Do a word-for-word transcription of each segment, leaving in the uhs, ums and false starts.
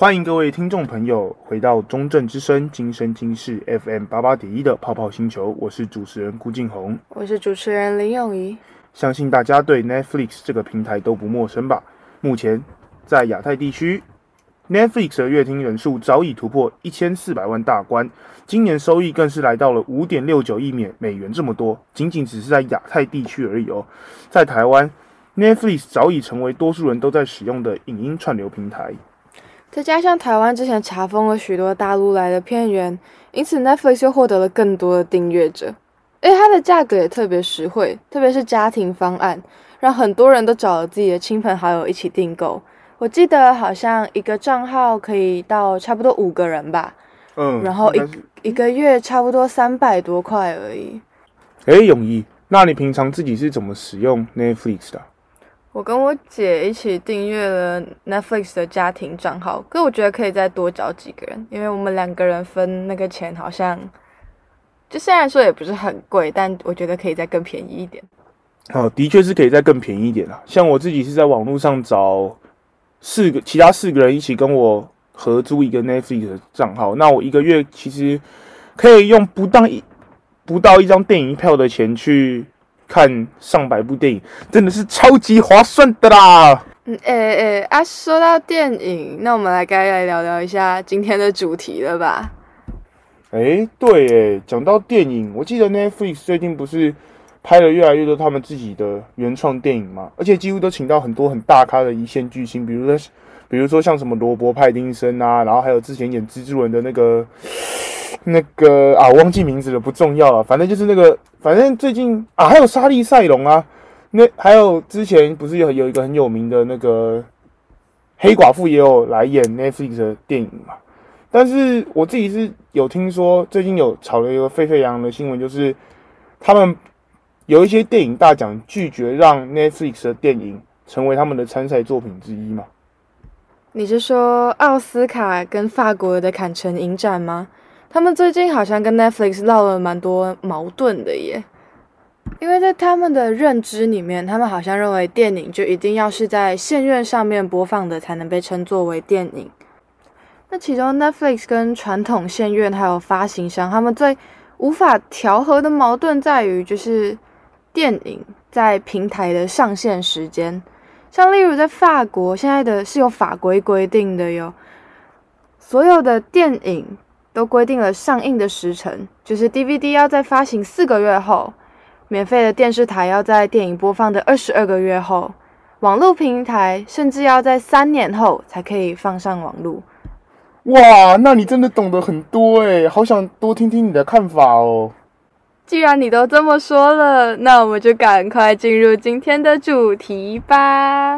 歡迎各位聽眾朋友回到中正之聲今生今世 F M 八八點一的泡泡星球，我是主持人顧敬宏， 我是主持人林詠儀。 相信大家對 Netflix 這個平台都不陌生吧？目前在亞太地區 ，Netflix 的閱聽人數早已突破一千四百萬大關，今年收益更是來到了五點六九億美元這麼多，僅僅只是在亞太地區而已哦。在台灣 ，Netflix 早已成為多數人都在使用的影音串流平台。 再加上台灣之前查封了許多大陸來的片源，因此 Netflix 又獲得了更多的訂閱者，而且它的價格也特別實惠，特別是家庭方案，讓很多人都找了自己的親朋好友一起訂購。我記得好像一個賬號可以到差不多五個人吧，嗯，然後一一個月差不多三百多塊而已。 哎，詠儀，那你平常自己是怎麼使用 Netflix 的？ 我跟我姐一起訂閱了 Netflix 的家庭賬號，可我覺得可以再多找幾個人，因為我們兩個人分那個錢好像，就雖然說也不是很貴，但我覺得可以再更便宜一點。 哦，的確是可以再更便宜一點啦。像我自己是在網絡上找四個其他四個人一起跟我合租一個 Netflix 的賬號，那我一個月其實可以用不到一不到一張電影票的錢去看上百部電影，真的是超級划算的啦！ 嗯，哎、欸、哎、欸、啊，說到電影，那我們來該來聊聊一下今天的主題了吧？ 哎、欸，對，哎，講到電影，我記得 Netflix 最近不是拍了越來越多他們自己的原創電影嘛，而且幾乎都請到很多很大咖的一線巨星，比如說，比如說像什麼羅伯·派丁森啊，然後還有之前演蜘蛛人的那個。那個啊，我忘記名字了，不重要了。反正就是那個，反正最近啊，還有莎莉賽隆啊，那還有之前不是有有一個很有名的那個黑寡婦也有來演 Netflix 的電影嘛。但是我自己是有聽說，最近有炒了一個沸沸揚揚的新聞，就是他們有一些電影大獎拒絕讓 Netflix 的電影成為他們的參賽作品之一嘛。 你是說奧斯卡跟法國的坎城影展嗎？他們最近好像跟 Netflix 鬧了蠻多矛盾的耶，因為在他們的認知裡面，他們好像認為電影就一定要是在線院上面播放的才能被稱作為電影。那其中 Netflix 跟傳統線院還有發行商，他們最無法調和的矛盾在於，就是電影在平台的上線時間。像例如在法國，現在的是有法規規定的喲，所有的電影都規定了上映的時程，就是 D V D 要在發行四個月後，免費的電視台要在電影播放的二十二個月後，網絡平台甚至要在三年後才可以放上網絡。 哇，那你真的懂得很多誒，好想多聽聽你的看法哦。 既然你都這麼說了，那我們就趕快進入今天的主題吧。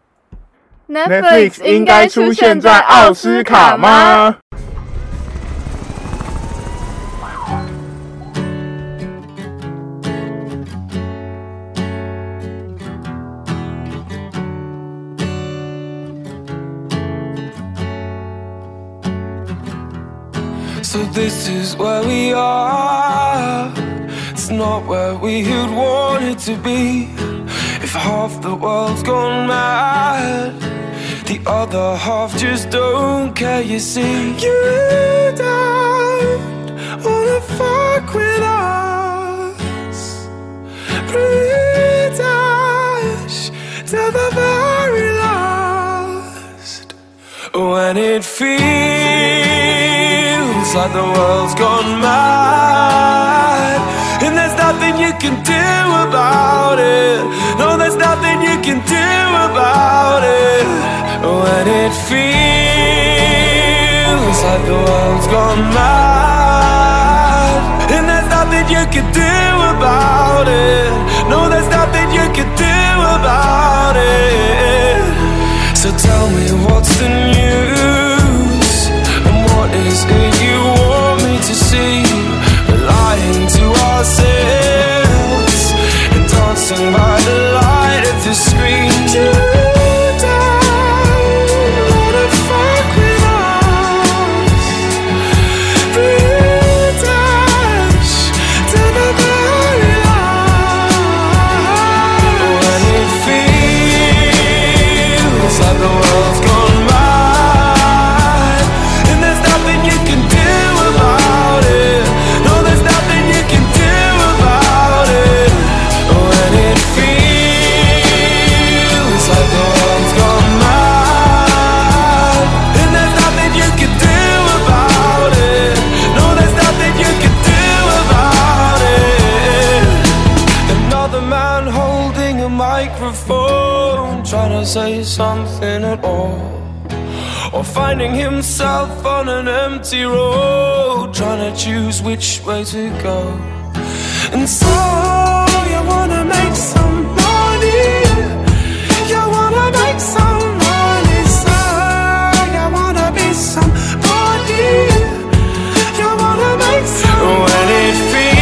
Netflix 應該出現在奧斯卡嗎 ？So this is where we are. It's not where we had wanted to be. If half the world's gone mad, the other half just don't care, you see. You don't wanna fuck with us. Pretty dash to the very last. When it feels like the world's gone mad, and there's nothing you can do about it. No, there's nothing you can do about it. When it feels like the world's gone mad, and there's nothing you can do about it. No, there's nothing you can do about it. So tell me what's the news, and what is it you want me to see? We're lying to ourselves and dancing by the light of the screen. You don't wanna fuck with us. Free dash to the very line. When it feels like the world's gone mad, say something at all, or finding himself on an empty road, trying to choose which way to go. And so you wanna make some money, you wanna make some money, so you wanna be somebody, you wanna make some money. When it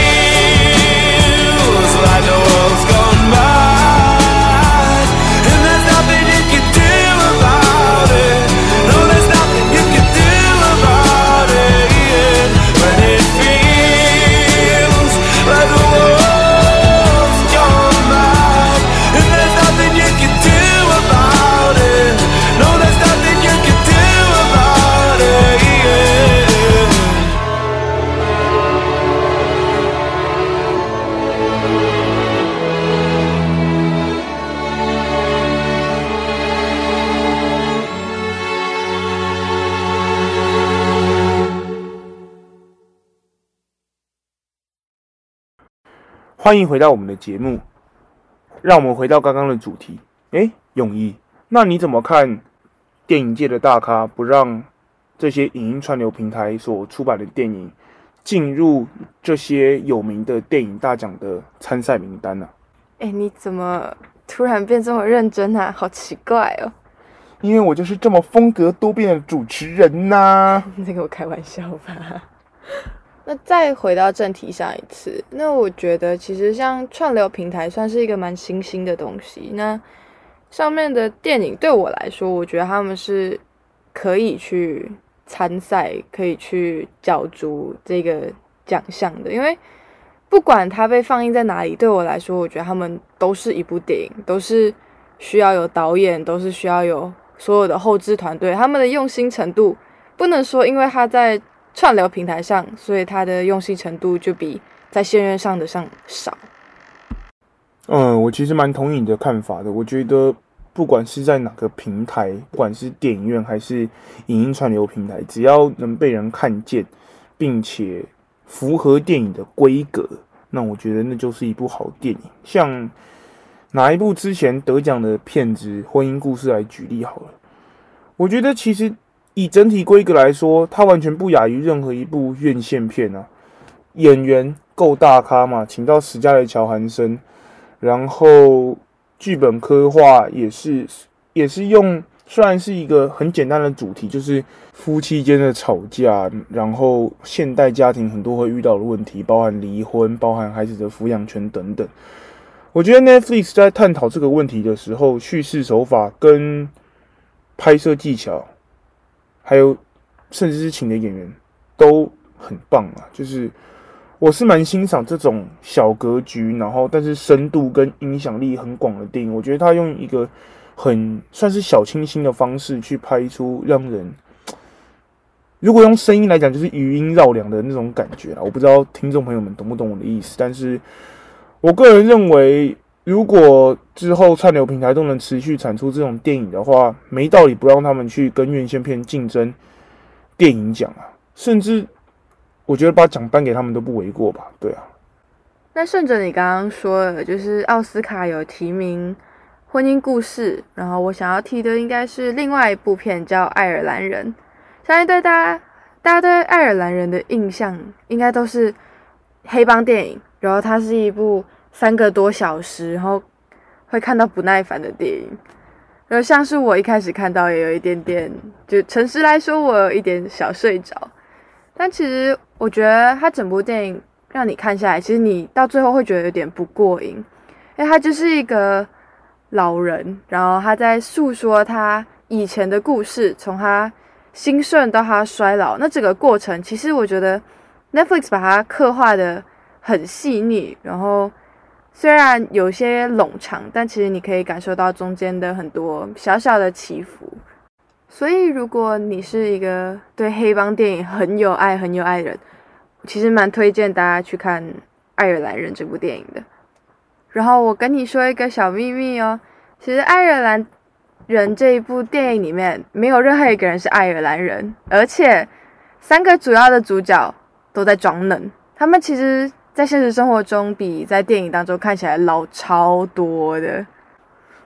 feels like the world's gone by, and there's nothing you can do about it, no, there's nothing you can do about it, yeah. When it feels like the world's gone by, and there's nothing you can do about it, no, there's nothing you can do about it, yeah. 歡迎回到我們的節目，讓我們回到剛剛的主題。誒，永毅，那你怎麼看電影界的大咖不讓這些影音串流平台所出版的電影進入這些有名的電影大獎的參賽名單呢？ 誒，你怎麼突然變這麼認真啊？好奇怪哦。 因為我就是這麼風格多變的主持人吶、啊。 你在跟我開玩笑吧？那再回到正題上一次，那我覺得其實像串流平台算是一個蠻新興的東西。那上面的電影對我來說，我覺得他們是可以去參賽，可以去角逐這個獎項的。因為不管它被放映在哪裡，對我來說，我覺得他們都是一部電影，都是需要有導演，都是需要有所有的後製團隊，他們的用心程度不能說因為他在串流平台上，所以他的用心程度就比在線院上的上少。 嗯，我其實蠻同意你的看法的。我覺得不管是在哪個平台，不管是電影院還是影音串流平台，只要能被人看見，並且符合電影的規格，那我覺得那就是一部好電影。像拿一部之前得獎的片子《婚姻故事》來舉例好了，我覺得其實以整體規格來說，它完全不亞於任何一部院線片啊。演員夠大咖嘛，請到史嘉蕾·喬韓森，然後劇本刻畫也是也是用，雖然是一個很簡單的主題，就是夫妻間的吵架，然後現代家庭很多會遇到的問題，包含離婚，包含孩子的撫養權等等。我覺得 Netflix 在探討這個問題的時候，敘事手法跟拍攝技巧，還有甚至是請的演員都很棒啊！就是我是蠻欣賞這種小格局，然後但是深度跟影響力很廣的電影。我覺得他用一個很算是小清新的方式去拍出讓人，如果用聲音來講，就是餘音繞梁的那種感覺啦。我不知道聽眾朋友們懂不懂我的意思，但是我個人認為，如果之後串流平台都能持續產出這種電影的話，沒道理不讓他們去跟院線片競爭電影獎啊，甚至我覺得把獎頒給他們都不為過吧。對啊。 那順着你剛剛說的，就是奧斯卡有提名《婚姻故事》，然後我想要提的應該是另外一部片叫《愛爾蘭人》。相信對大家，大家對愛爾蘭人的印象應該都是黑幫電影，然後它是一部三個多小時，然後會看到不耐煩的電影。然後像是我一開始看到也有一點點，就誠實來說，我有一點小睡着。但其實我覺得它整部電影讓你看下來，其實你到最後會覺得有點不過癮，因為它就是一個老人，然後他在訴說他以前的故事，從他興盛到他衰老，那整個過程，其實我覺得 Netflix 把它刻畫的很細膩，然後雖然有些冗長，但其實你可以感受到中間的很多小小的起伏。所以如果你是一個對黑幫電影很有愛很有愛的人，其實蠻推薦大家去看《愛爾蘭人》這部電影的。然後我跟你說一個小祕密哦，其實《愛爾蘭人》這一部電影裡面沒有任何一個人是愛爾蘭人，而且三個主要的主角都在裝嫩，他們其實在現實生活中比在電影當中看起來老超多的。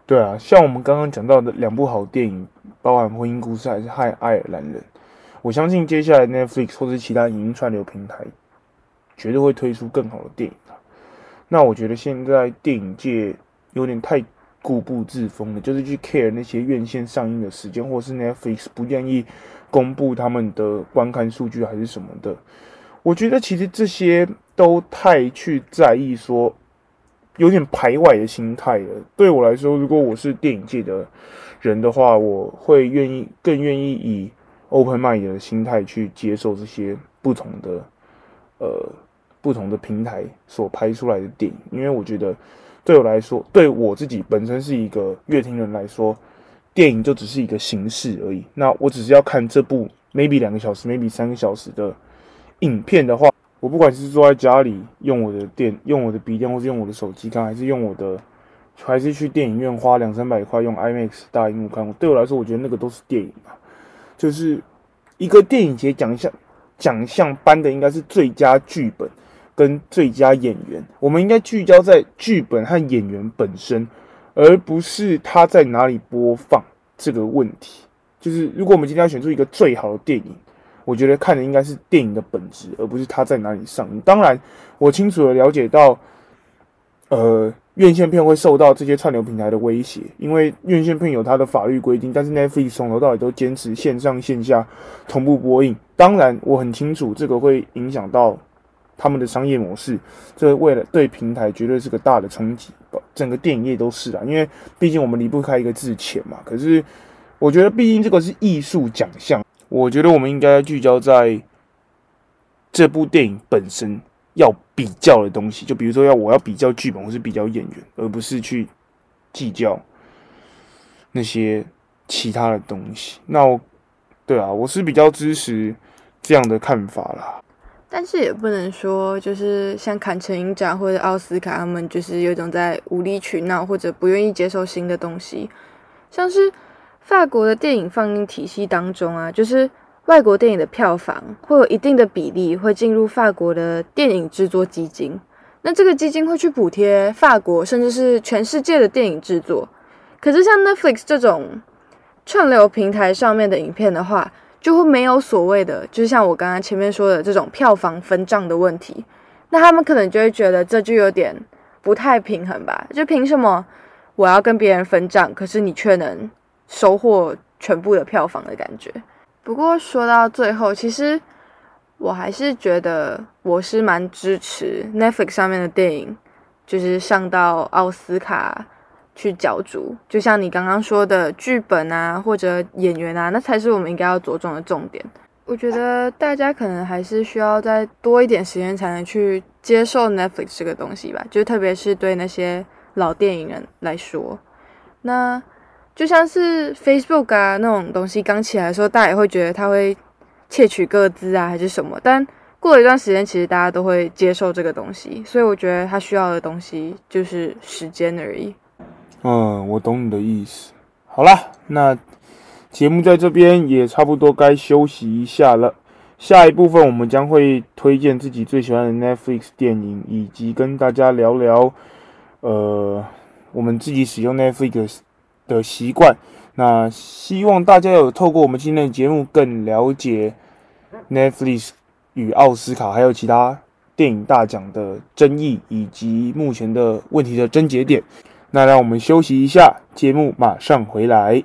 對啊，像我們剛剛講到的兩部好電影，包含《婚姻故事》還是《愛愛爾蘭人》，我相信接下來 Netflix 或是其他影音串流平台絕對會推出更好的電影啊。那我覺得現在電影界有點太固步自封了，就是去 care 那些院線上映的時間，或是 Netflix 不願意公布他們的觀看數據還是什麼的。我覺得其實這些都太去在意說，有點排外的心態了。對我來說，如果我是電影界的人的話，我會願意更願意以 open mind 的心態去接受這些不同的呃不同的平台所拍出來的電影，因為我覺得對我來說，對我自己本身是一個閱聽人來說，電影就只是一個形式而已。那我只是要看這部 maybe 兩個小時 maybe 三個小時的影片的話，我不管是坐在家裡用我的電用我的筆電，或是用我的手機看，還是用我的，還是去電影院花兩三百塊用 IMAX 大熒幕看，對我來說，我覺得那個都是電影嘛。就是一個電影節獎項獎項頒的應該是最佳劇本跟最佳演員，我們應該聚焦在劇本和演員本身，而不是他在哪裡播放這個問題。就是如果我們今天要選出一個最好的電影，我覺得看的應該是電影的本質，而不是它在哪裡上映。當然，我清楚的了解到，呃，院線片會受到這些串流平台的威脅，因為院線片有它的法律規定，但是 Netflix 從頭到尾都堅持線上線下同步播映。當然，我很清楚這個會影響到他們的商業模式，這為了對平台絕對是個大的衝擊，整個電影業都是啦，因為畢竟我們離不開一個字錢嘛。可是，我覺得畢竟這個是藝術獎項。我覺得我們應該聚焦在這部電影本身要比較的東西，就比如說要我要比較劇本或是比較演員，而不是去計較那些其他的東西。那我對啊，我是比較支持這樣的看法啦。 但是也不能說就是像坎城影展或者奧斯卡他們就是有一種在無理取鬧或者不願意接受新的東西，像是法國的電影放映體系當中啊，就是外國電影的票房會有一定的比例會進入法國的電影制作基金，那這個基金會去補貼法國甚至是全世界的電影制作。可是像 Netflix 這種串流平台上面的影片的話，就會沒有所謂的，就是像我剛剛前面說的這種票房分賬的問題，那他們可能就會覺得這就有點不太平衡吧，就憑什麼我要跟別人分賬，可是你卻能收穫全部的票房的感覺。不過說到最後，其實我還是覺得我是蠻支持 Netflix 上面的電影，就是上到奧斯卡去角逐，就像你剛剛說的劇本啊或者演員啊，那才是我們應該要着重的重點。我覺得大家可能還是需要再多一點時間才能去接受 Netflix 這個東西吧，就特別是對那些老電影人來說。那就像是 Facebook 啊那種東西剛起來的時候，大家也會覺得它會竊取個資啊還是什麼，但過了一段時間其實大家都會接受這個東西，所以我覺得它需要的東西就是時間而已。 嗯，我懂你的意思。好啦，那節目在這邊也差不多該休息一下了。下一部分我們將會推薦自己最喜歡的 Netflix 電影，以及跟大家聊聊呃我們自己使用 Netflix 的習慣。那希望大家有透過我們今天的節目更了解 Netflix 與奧斯卡還有其他電影大獎的爭議，以及目前的問題的症結點。那讓我們休息一下，節目馬上回來。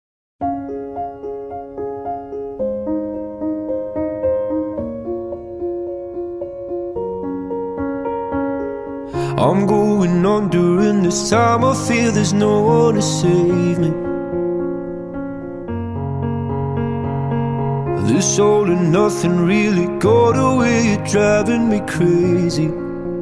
I'm going on during this time. I feel there's no one to save me. This all and nothing really got away, you're driving me crazy.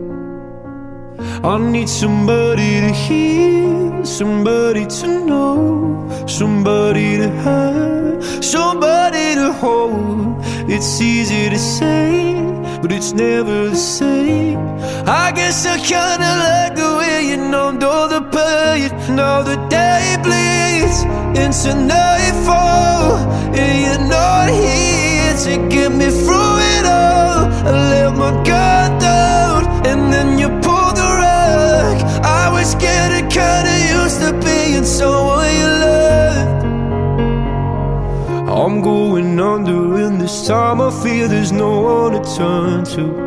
I need somebody to hear, somebody to know, somebody to have, somebody to hold. It's easy to say, but it's never the same. I guess I kinda like the way you numbed all the pain. Now the day bleeds into nightfall, and you're not here to get me through it all. I let my guard down, and then you pulled the rug. I was getting kinda used to being someone you love. I'm going under, and this time I fear there's no one to turn to.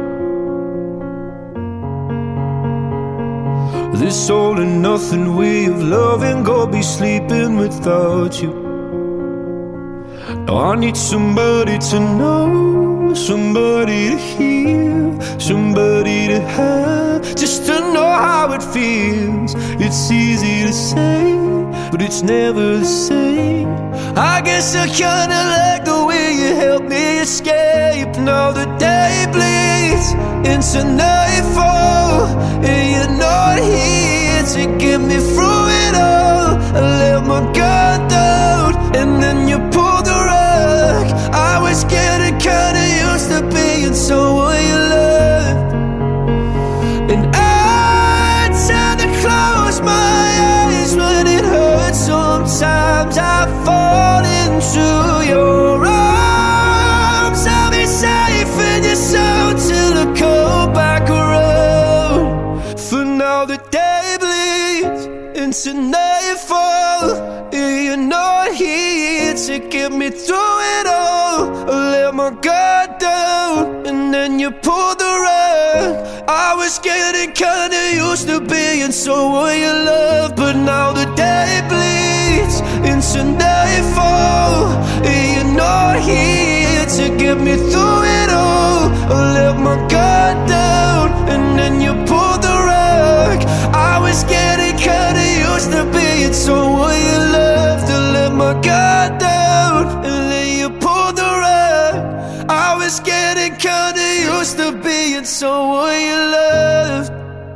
This all and nothing way of loving, go be sleeping without you. Now I need somebody to know, somebody to hear, somebody to have, just to know how it feels. It's easy to say, but it's never the same. I guess I kinda like the way you help me escape. Now the day bleeds into nightfall, and you're not here to get me through it all. I let my guard down, and then you pulled the rug. I was getting kinda used to being someone you loved, and I tend to close my eyes when it hurts. Sometimes I fall into your arms. I'll be safe in your soul till I come back around. For now the day bleeds into nightfall, and you're not here to get me through it all. I let my guard down, and then you pulled the rug. I was getting kinda used to being someone you love, but now the day bleeds into nightfall, and you're not here to get me through it all. I let my guard down, and then you pulled the rug. I was getting kinda used to being someone you loved. To let my guard down, and then you pulled the rug. I was getting kinda used to being someone you loved.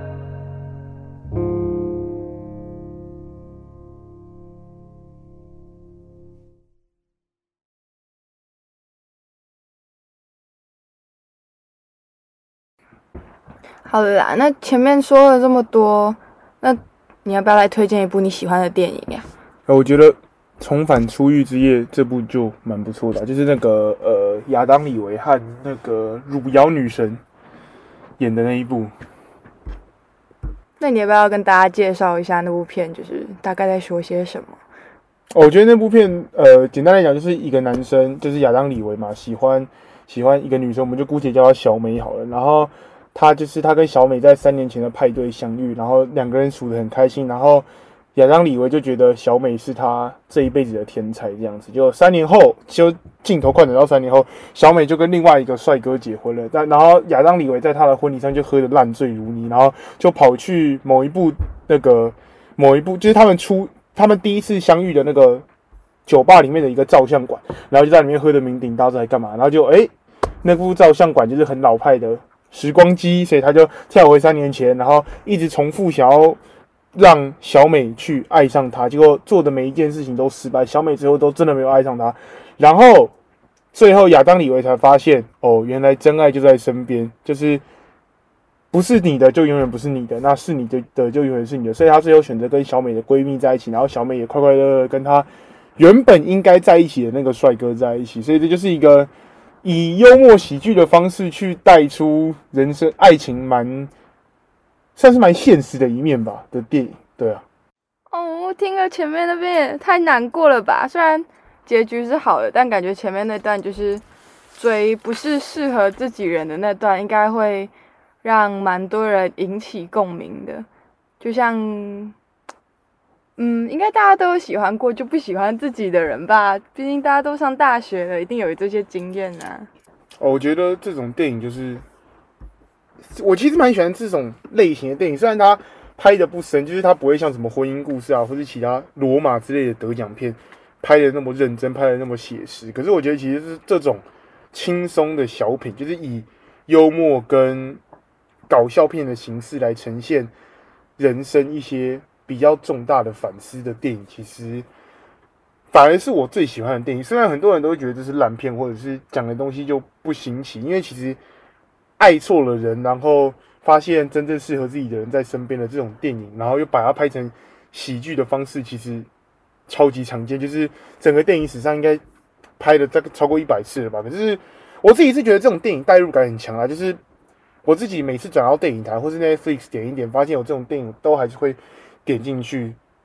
好了啦，那前面說了這麼多，那你要不要來推薦一部你喜歡的電影呀？ 我覺得《重返出獄之夜》這部就蠻不錯的，就是那個呃亞當李維和那個汝窯女神演的那一部。 那你要不要跟大家介紹一下那部片，就是大概在說些什麼？ 我覺得那部片，呃，簡單來講就是一個男生，就是亞當李維嘛，喜歡喜歡一個女生，我們就姑且叫她小美好了。然後他就是他跟小美在三年前的派對相遇，然後兩個人處得很開心。然後亞當李維就覺得小美是他這一輩子的天才，這樣子。就三年後，就鏡頭快轉到三年後，小美就跟另外一個帥哥結婚了。但然後亞當李維在他的婚禮上就喝得爛醉如泥，然後就跑去某一部那個某一部，就是他們出他們第一次相遇的那個酒吧裡面的一個照相館，然後就在裡面喝得酩酊大醉，還幹嘛？然後就哎、欸，那部照相館就是很老派的時光機，所以他就跳回三年前，然後一直重複想要讓小美去愛上他，結果做的每一件事情都失敗，小美最後都真的沒有愛上他。然後最後亞當李維才發現，哦，原來真愛就在身邊，就是不是你的就永遠不是你的，那是你的的就永遠是你的。所以他最後選擇跟小美的閨蜜在一起，然後小美也快快樂樂跟他原本應該在一起的那個帥哥在一起。所以這就是一個以幽默喜劇的方式去帶出人生愛情蠻算是蠻現實的一面吧的電影，對啊。 哦，我聽了前面那邊也太難過了吧？雖然結局是好的，但感覺前面那段就是追不是適合自己人的那段，應該會讓蠻多人引起共鳴的。就像，嗯，應該大家都有喜歡過就不喜歡自己的人吧？畢竟大家都上大學了，一定有這些經驗啊。 哦，我覺得這種電影就是，我其實蠻喜歡這種類型的電影，雖然它拍的不深，就是它不會像什麼婚姻故事啊，或是其他羅馬之類的得獎片拍的那麼認真，拍的那麼寫實。可是我覺得其實是這種輕鬆的小品，就是以幽默跟搞笑片的形式來呈現人生一些比較重大的反思的電影，其實反而是我最喜歡的電影。雖然很多人都會覺得這是爛片，或者是講的東西就不新奇，因為其實愛錯了人，然後發現真正適合自己的人在身邊的這種電影，然後又把它拍成喜劇的方式，其實超級常見，就是整個電影史上應該拍了大概超過一百次了吧。可是我自己是覺得這種電影代入感很強啊，就是我自己每次轉到電影台或是 Netflix 點一點，發現有這種電影都還是會點進去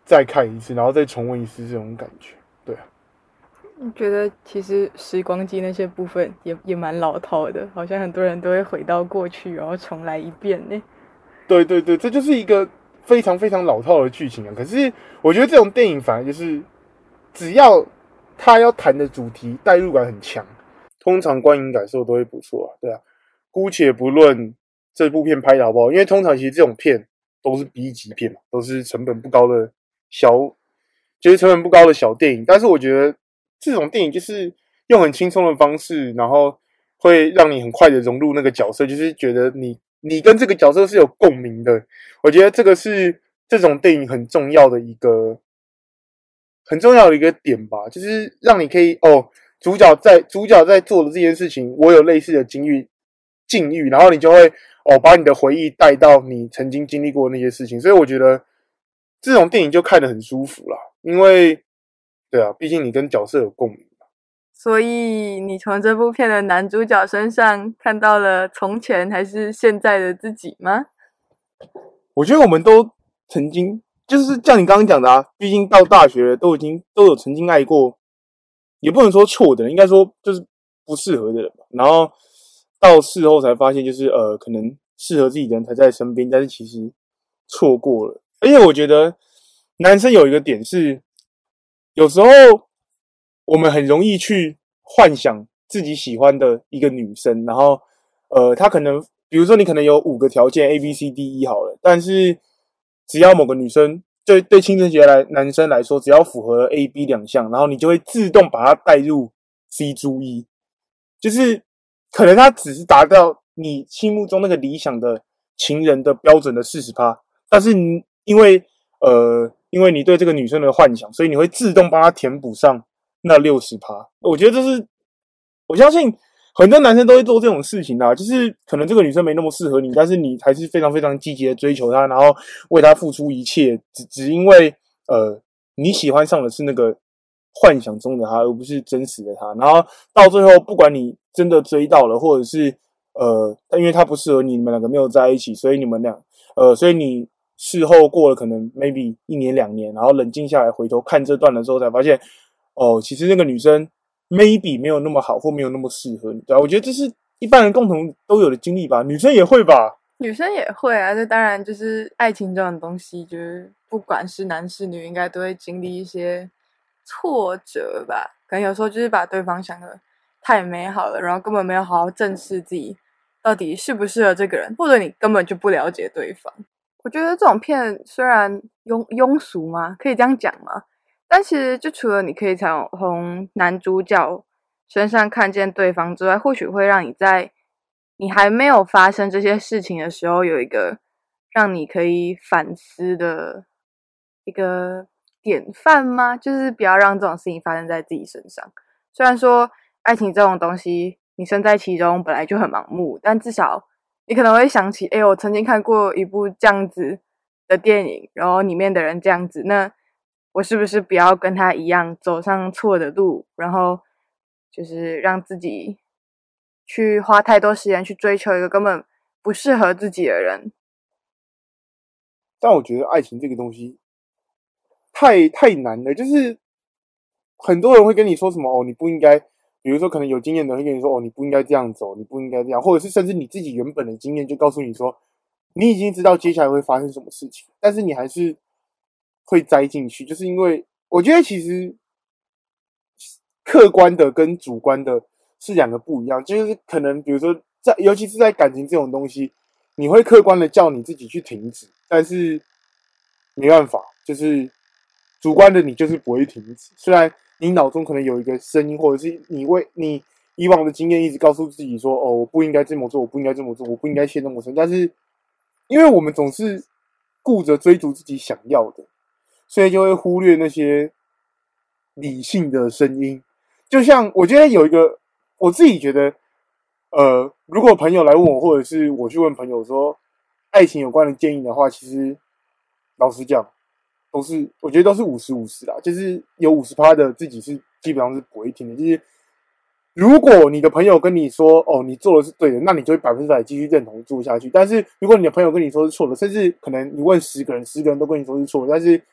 再看一次，然後再重溫一次這種感覺。對啊， 我覺得其實時光機那些部分也也蠻老套的，好像很多人都會回到過去，然後重來一遍呢。 對對對，這就是一個非常非常老套的劇情啊。可是我覺得這種電影反而就是，只要他要談的主題代入感很強，通常觀影感受都會不錯啊。對啊，姑且不論這部片拍的好不好，因為通常其實這種片都是 B 級片嘛，都是成本不高的小，就是成本不高的小電影。但是我覺得這種電影就是用很輕鬆的方式，然後會讓你很快的融入那個角色，就是覺得你。你跟這個角色是有共鳴的，我覺得這個是這種電影很重要的一個很重要的一個點吧，就是讓你可以哦，主角在主角在做的這件事情，我有類似的經歷境遇，然後你就會哦把你的回憶帶到你曾經經歷過的那些事情，所以我覺得這種電影就看得很舒服啦，因為對啊，畢竟你跟角色有共鳴。 所以你從這部片的男主角身上看到了從前還是現在的自己嗎？ 我覺得我們都曾經，就是像你剛剛講的啊，畢竟到大學了，都已經都有曾經愛過，也不能說錯的人，應該說就是不適合的人吧。然後到事後才發現，就是呃，可能適合自己的人才在身邊，但是其實錯過了。而且我覺得男生有一個點是，有時候。我們很容易去幻想自己喜歡的一個女生，然後，呃，她可能，比如說你可能有五個條件 A B C D E 好了，但是只要某個女生，對對青春期來男生來說，只要符合 A B 兩項，然後你就會自動把她帶入 C 注 E，就是可能她只是達到你心目中那個理想的情人的標準的 百分之四十， 但是你因為呃因為你對這個女生的幻想，所以你會自動幫她填補上那 百分之六十， 我覺得這是，我相信很多男生都會做這種事情啦，就是可能這個女生沒那麼適合你，但是你還是非常非常積極的追求她，然後為她付出一切，只只因為呃你喜歡上的是那個幻想中的她，而不是真實的她。然後到最後，不管你真的追到了，或者是呃因為她不適合你，你們兩個沒有在一起，所以你們倆呃所以你事後過了可能 maybe 一年兩年，然後冷靜下來回頭看這段的時候，才發現。哦，其實那個女生 maybe 沒有那麼好，或沒有那麼適合你，對吧？我覺得這是一般人共同都有的經歷吧，女生也會吧？ 女生也會啊，這當然就是愛情這種東西，就是不管是男是女，應該都會經歷一些挫折吧。可能有時候就是把對方想得太美好了，然後根本沒有好好正視自己到底適不適合這個人，或者你根本就不了解對方。我覺得這種片雖然庸庸俗嗎？可以這樣講嗎？但其實，就除了你可以從從男主角身上看見對方之外，或許會讓你在你還沒有發生這些事情的時候，有一個讓你可以反思的一個典範嗎？就是不要讓這種事情發生在自己身上。雖然說愛情這種東西，你身在其中本來就很盲目，但至少你可能會想起，哎，我曾經看過一部這樣子的電影，然後裡面的人這樣子，那。我是不是不要跟他一樣走上錯的路，然後就是讓自己去花太多時間去追求一個根本不適合自己的人？ 但我覺得愛情這個東西太太難了，就是很多人會跟你說什麼哦，你不應該，比如說可能有經驗的人會跟你說哦，你不應該這樣走，你不應該這樣，或者是甚至你自己原本的經驗就告訴你說，你已經知道接下來會發生什麼事情，但是你還是會栽進去，就是因為我覺得其實客觀的跟主觀的是兩個不一樣，就是可能比如說在尤其是在感情這種東西，你會客觀的叫你自己去停止，但是沒辦法，就是主觀的你就是不會停止。雖然你腦中可能有一個聲音，或者是你為你以往的經驗一直告訴自己說，哦，我不應該這麼做，我不應該這麼做，我不應該陷那麼深，但是因為我們總是顧着追逐自己想要的。所以就會忽略那些理性的聲音，就像我覺得有一個，我自己覺得，呃，如果朋友來問我，或者是我去問朋友說愛情有關的建議的話，其實老實講，都是我覺得都是五十五十啦，就是有五十趴的自己是基本上是不會聽的。就是如果你的朋友跟你說哦，你做的是對的，那你就會百分之百繼續認同做下去。但是如果你的朋友跟你說是錯的，甚至可能你問十個人，十個人都跟你說是錯的，但是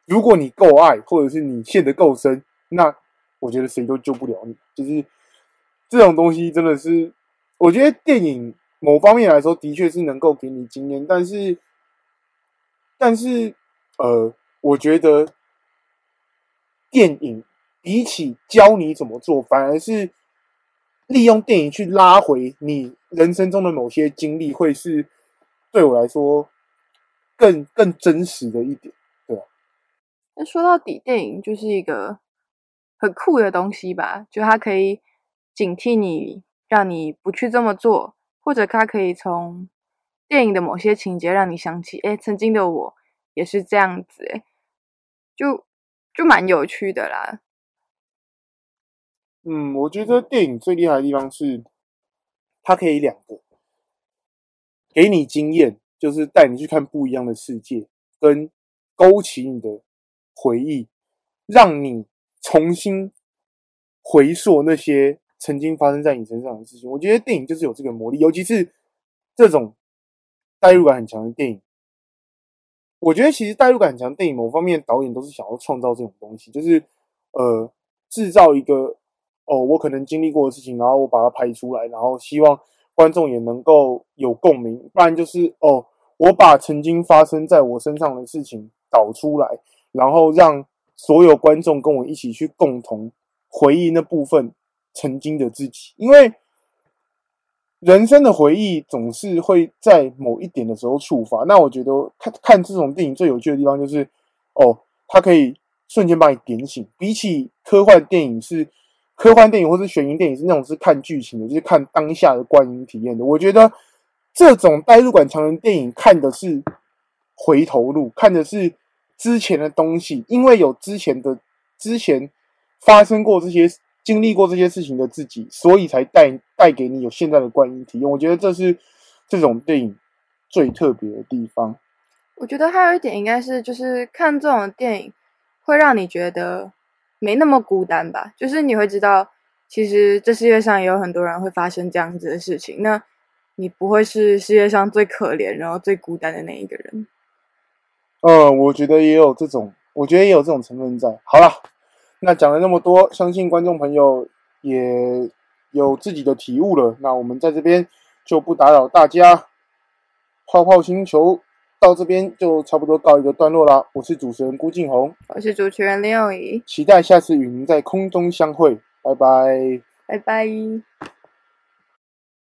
如果你夠愛，或者是你陷得夠深，那我覺得誰都救不了你。就是這種東西真的是，我覺得電影某方面來說的確是能夠給你經驗，但是，但是，呃，我覺得電影比起教你怎麼做，反而是利用電影去拉回你人生中的某些經歷，會是對我來說更更真實的一點。 那說到底，電影就是一個很酷的東西吧，就它可以警惕你，讓你不去這麼做，或者它可以從電影的某些情節讓你想起，誒，曾經的我也是這樣子，誒，就就蠻有趣的啦。 嗯，我覺得電影最厲害的地方是，它可以兩個，給你經驗，就是帶你去看不一樣的世界，跟勾起你的回憶，讓你重新回溯那些曾經發生在你身上的事情。我覺得電影就是有這個魔力，尤其是這種代入感很強的電影。我覺得其實代入感很強的電影，某方面導演都是想要創造這種東西，就是呃製造一個哦我可能經歷過的事情，然後我把它拍出來，然後希望觀眾也能夠有共鳴。不然就是哦我把曾經發生在我身上的事情導出來，然後讓所有觀眾跟我一起去共同回憶那部分曾經的自己，因為人生的回憶總是會在某一點的時候觸發。那我覺得看看這種電影最有趣的地方就是，哦，它可以瞬間把你點醒。比起科幻電影是科幻電影或是懸疑電影是那種是看劇情的，就是看當下的觀影體驗的。我覺得這種代入感強的電影看的是回頭路，看的是之前的東西，因為有之前的之前發生過這些經歷過這些事情的自己，所以才帶帶給你有現在的觀影體驗。我覺得這是這種電影最特別的地方。 我覺得還有一點應該是，就是看這種電影會讓你覺得沒那麼孤單吧，就是你會知道，其實這世界上也有很多人會發生這樣子的事情，那你不會是世界上最可憐然後最孤單的那一個人。 嗯，我覺得也有这種，我覺得也有這種成分在。好啦，那講了那麼多，相信觀眾朋友也有自己的體悟了。那我們在這邊就不打擾大家，泡泡星球到這邊就差不多告一個段落啦。我是主持人辜敬宏， 我是主持人林友儀， 期待下次與您在空中相會，拜拜， 拜拜。